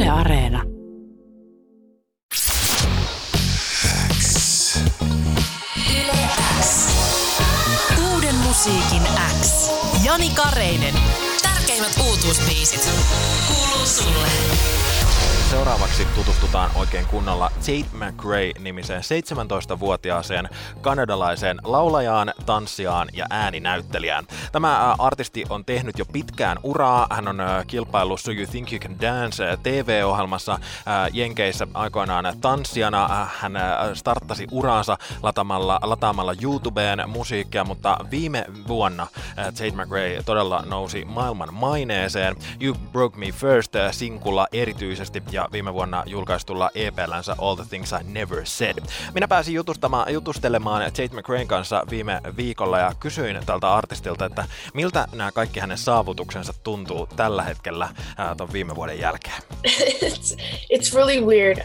Yle Areena. Yle X. Uuden musiikin X. Jani Kareinen. Tärkeimmät uutuusbiisit kuuluu sulle. Seuraavaksi tutustutaan oikein kunnolla Tate McRae-nimiseen 17-vuotiaaseen kanadalaiseen laulajaan, tanssijaan ja ääninäyttelijään. Tämä artisti on tehnyt jo pitkään uraa. Hän on kilpaillut So You Think You Can Dance TV-ohjelmassa Jenkeissä aikoinaan tanssijana. Hän starttasi uraansa lataamalla YouTubeen musiikkia, mutta viime vuonna Tate McRae todella nousi maailman maineeseen. You Broke Me First -sinkulla erityisesti ja viime vuonna julkaistulla EP:llänsä All the Things I Never Said. Minä pääsin jutustelemaan Tate McRaen kanssa viime viikolla ja kysyin tältä artistilta, että miltä nämä kaikki hänen saavutuksensa tuntuu tällä hetkellä ton viime vuoden jälkeen. It's really weird.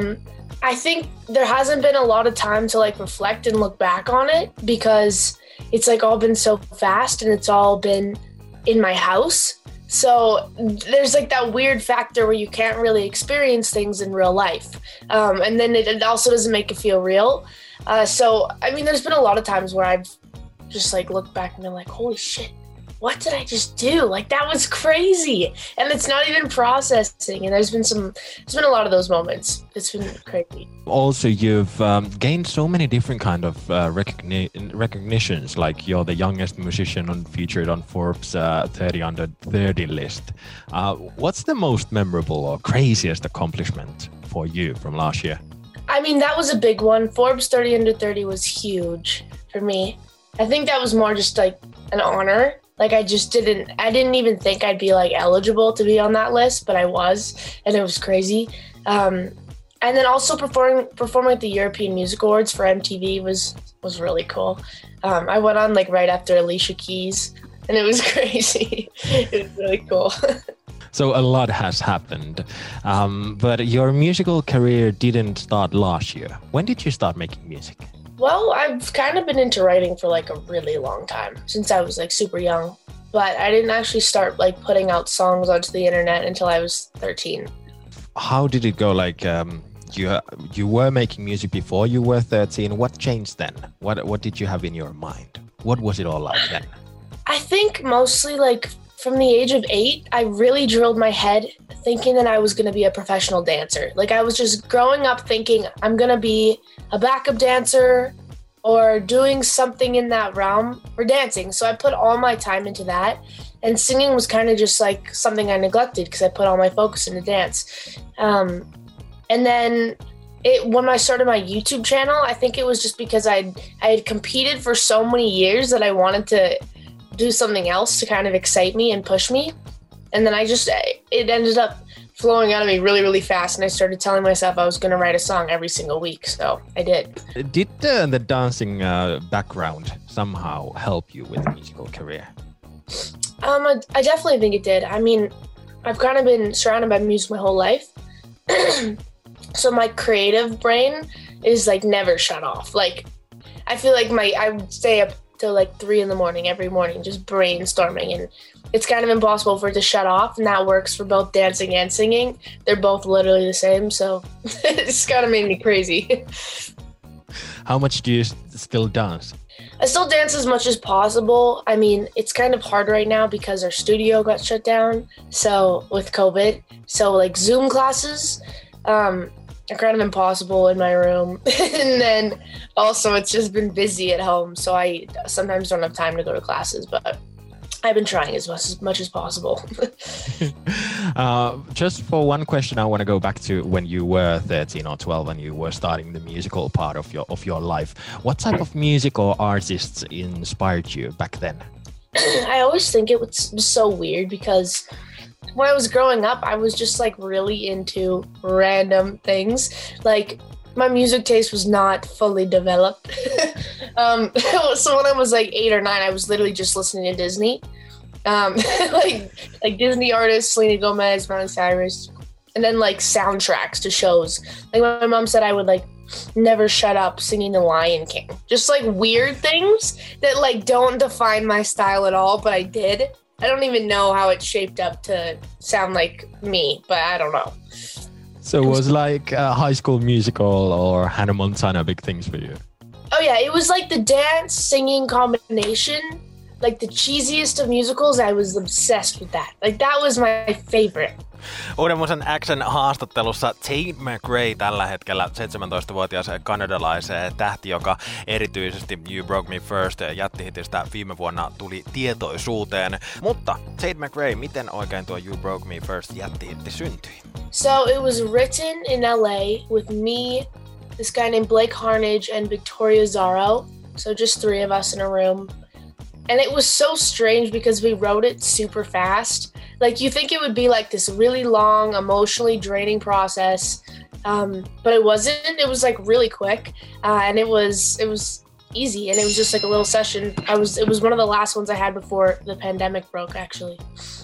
I think there hasn't been a lot of time to like reflect and look back on it because it's like all been so fast and it's all been in my house. So there's like that weird factor where you can't really experience things in real life. And then it also doesn't make it feel real. So, I mean, there's been a lot of times where I've just like looked back and been like, holy shit, what did I just do? Like, that was crazy. And it's not even processing. And there's been a lot of those moments. It's been crazy. Also, you've gained so many different kind of recognitions. Like you're the youngest musician featured on Forbes 30 under 30 list. What's the most memorable or craziest accomplishment for you from last year? I mean, that was a big one. Forbes 30 under 30 was huge for me. I think that was more just like an honor. Like I didn't even think I'd be like eligible to be on that list, but I was, and it was crazy. And then also performing at the European Music Awards for MTV was really cool. I went on like right after Alicia Keys, and it was crazy. It was really cool. So a lot has happened, but your musical career didn't start last year. When did you start making music? Well, I've kind of been into writing for like a really long time, since I was like super young. But I didn't actually start like putting out songs onto the internet until I was 13. How did it go? Like you were making music before you were 13. What changed then? What did you have in your mind? What was it all like then? I think mostly like from the age of 8, I really drilled my head thinking that I was going to be a professional dancer. Like I was just growing up thinking I'm going to be a backup dancer or doing something in that realm or dancing. So I put all my time into that, and singing was kind of just like something I neglected because I put all my focus into dance. And then when I started my YouTube channel, I think it was just because I had competed for so many years that I wanted to do something else to kind of excite me and push me. And then it ended up flowing out of me really, really fast. And I started telling myself I was going to write a song every single week. So I did. Did the dancing background somehow help you with the musical career? I definitely think it did. I mean, I've kind of been surrounded by music my whole life. So my creative brain is like never shut off. Like I feel like I would stay up till like 3 a.m. every morning just brainstorming, and it's kind of impossible for it to shut off, and that works for both dancing and singing. They're both literally the same, so it's kind of made me crazy. How much do you still dance? I still dance as much as possible. I mean, it's kind of hard right now because our studio got shut down, so with COVID. So like Zoom classes are kind of impossible in my room. And then also it's just been busy at home, so I sometimes don't have time to go to classes, but I've been trying as much as possible. Just for one question, I want to go back to when you were 13 or 12 and you were starting the musical part of your life. What type of music or artists inspired you back then? I always think it was so weird because when I was growing up, I was just like really into random things. Like my music taste was not fully developed. So when I was like 8 or 9, I was literally just listening to Disney. Like Disney artists, Selena Gomez, Miley Cyrus, and then like soundtracks to shows. Like my mom said I would like never shut up singing The Lion King. Just like weird things that like don't define my style at all, but I did. I don't even know how it shaped up to sound like me, but I don't know. So was like High School Musical or Hannah Montana big things for you? Oh yeah, it was like the dance singing combination, like the cheesiest of musicals. I was obsessed with that. Like that was my favorite. Uuden Musan X:n haastattelussa Tate McRae tällä hetkellä 17-vuotias kanadalaisen tähti, joka erityisesti You Broke Me First jättihitistä viime vuonna tuli tietoisuuteen. Mutta Tate McRae, miten oikein tuo You Broke Me First jättihitti syntyi? So it was written in LA with me, this guy named Blake Harnage, and Victoria Zaro. So just three of us in a room. And it was so strange because we wrote it super fast. Like you think it would be like this really long, emotionally draining process, but it wasn't. It was like really quick, and it was easy, and it was just like a little session. It was one of the last ones I had before the pandemic broke, actually.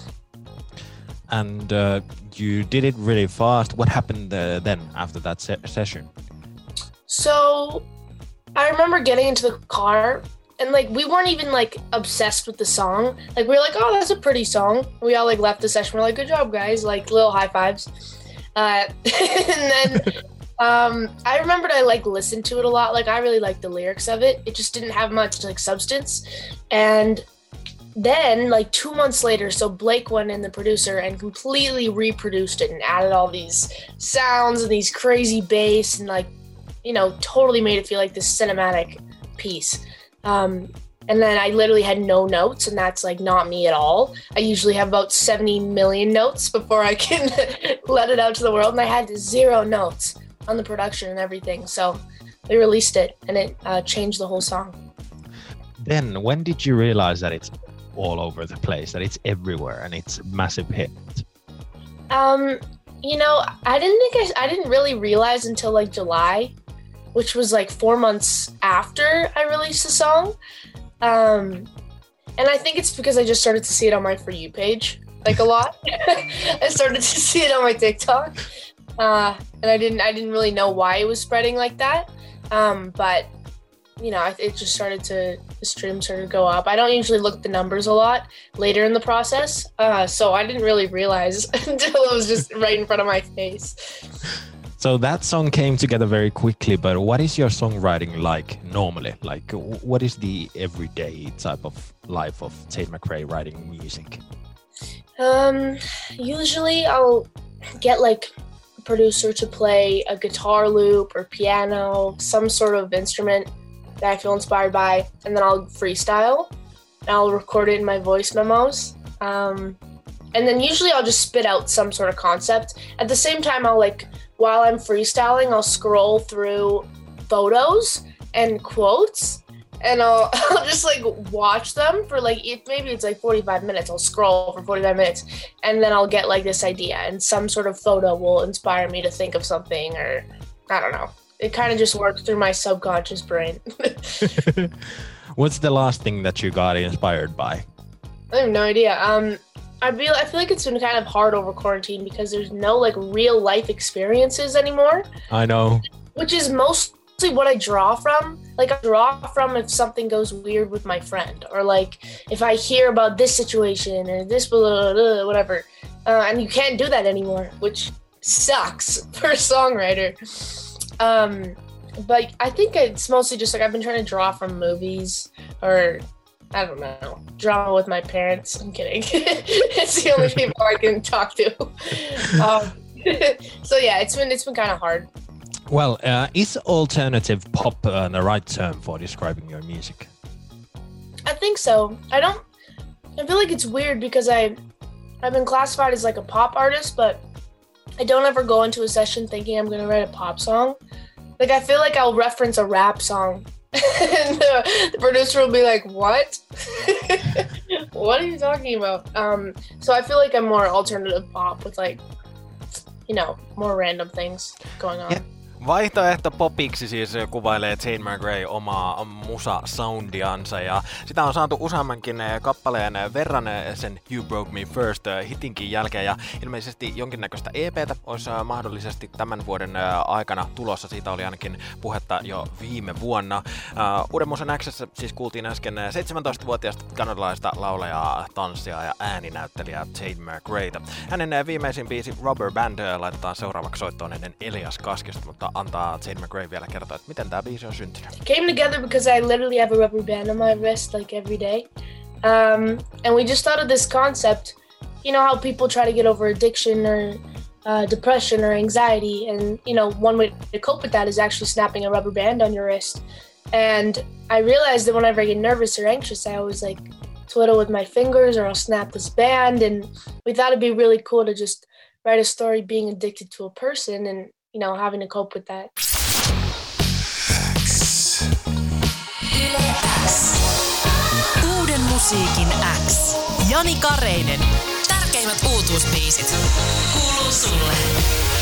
And you did it really fast. What happened then after that session? So I remember getting into the car. And like we weren't even like obsessed with the song. Like we were like, oh, that's a pretty song. We all like left the session. We're like, good job, guys. Like little high fives. And then I remembered I like listened to it a lot. Like I really liked the lyrics of it. It just didn't have much like substance. And then like 2 months later, so Blake went in, the producer, and completely reproduced it and added all these sounds and these crazy bass and like, you know, totally made it feel like this cinematic piece. And then I literally had no notes, and that's like not me at all. I usually have about 70 million notes before I can let it out to the world, and I had 0 notes on the production and everything. So we released it, and it changed the whole song. Then when did you realize that it's all over the place, that it's everywhere and it's a massive hit? You know, I didn't really realize until like July, which was like 4 months after I released the song. And I think it's because I just started to see it on my For You page, like a lot. I started to see it on my TikTok. And I didn't really know why it was spreading like that. But, you know, the stream started to go up. I don't usually look at the numbers a lot later in the process. So I didn't really realize until it was just right in front of my face. So that song came together very quickly, but what is your songwriting like normally? Like, what is the everyday type of life of Tate McRae writing music? Usually I'll get like a producer to play a guitar loop or piano, some sort of instrument that I feel inspired by, and then I'll freestyle. And I'll record it in my voice memos. And then usually I'll just spit out some sort of concept. At the same time, I'll like, while I'm freestyling, I'll scroll through photos and quotes, and I'll just like watch them for like, maybe it's like 45 minutes. I'll scroll for 45 minutes, and then I'll get like this idea, and some sort of photo will inspire me to think of something, or I don't know. It kind of just works through my subconscious brain. What's the last thing that you got inspired by? I have no idea. I feel like it's been kind of hard over quarantine because there's no like real life experiences anymore. I know. Which is mostly what I draw from. Like I draw from if something goes weird with my friend, or like if I hear about this situation or this blah, blah, blah, whatever. And you can't do that anymore, which sucks for a songwriter. But I think it's mostly just like I've been trying to draw from movies, or I don't know, drama with my parents. I'm kidding. It's the only people I can talk to. So yeah, it's been kind of hard. Well, is alternative pop the right term for describing your music? I think so. I feel like it's weird because I've been classified as like a pop artist, but I don't ever go into a session thinking I'm going to write a pop song. Like I feel like I'll reference a rap song and the producer will be like, what? What are you talking about? So I feel like I'm more alternative pop with like, you know, more random things going on. Yeah. Vaihtoehto popiksi siis kuvailee Tate McRae omaa musa-soundiansa ja sitä on saatu useammankin kappaleen verran sen You Broke Me First hitinkin jälkeen ja ilmeisesti jonkinnäköistä EP:tä olisi mahdollisesti tämän vuoden aikana tulossa. Siitä oli ainakin puhetta jo viime vuonna. Uuden musan X:ssä siis kuultiin äsken 17-vuotiaasta kanadalaista laulajaa, tanssijaa ja ääninäyttelijää Tate McRaeta. Hänen viimeisin biisi Rubber Band laitetaan seuraavaksi soittoon ennen Elias Kaskista, mutta antaa Tate McRae vielä kertoa, että miten tämä biisi on syntynyt. Came together because I literally have a rubber band on my wrist like every day. And we just thought of this concept. You know how people try to get over addiction or depression or anxiety, and you know one way to cope with that is actually snapping a rubber band on your wrist. And I realized that whenever I get nervous or anxious, I always like twiddle with my fingers or I'll snap this band. And we thought it'd be really cool to just write a story being addicted to a person and, you know, having to cope with that. Uuden musiikin X. Jani Kareinen. Tärkeimmät uutuusbiisit kuuluu sulle.